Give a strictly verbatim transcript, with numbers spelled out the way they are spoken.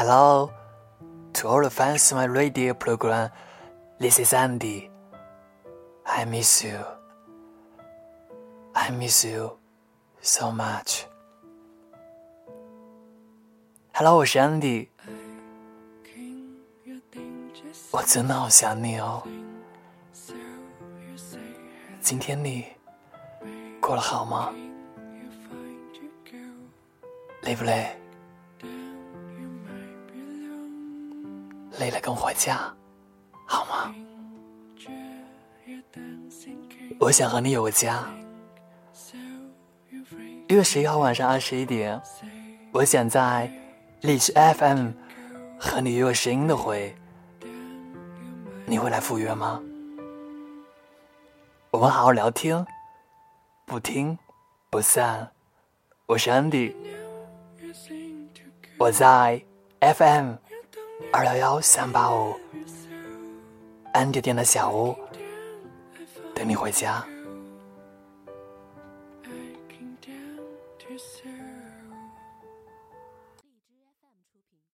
Hello, to all the fans of my radio program, this is Andy. I miss you. I miss you so much. Hello, 我是 Andy. 我真的好想你哦。今天你过得好吗？累不累？累了跟回家好吗？我想和你有个家。一月十一号晚上二十一点，我想在荔枝 F M 和你约个声音的会，你会来赴约吗？我们好好聊天，不听不散。我是 Andy， 我在 F M 二幺幺三八五 Andy 店的小屋等你回家。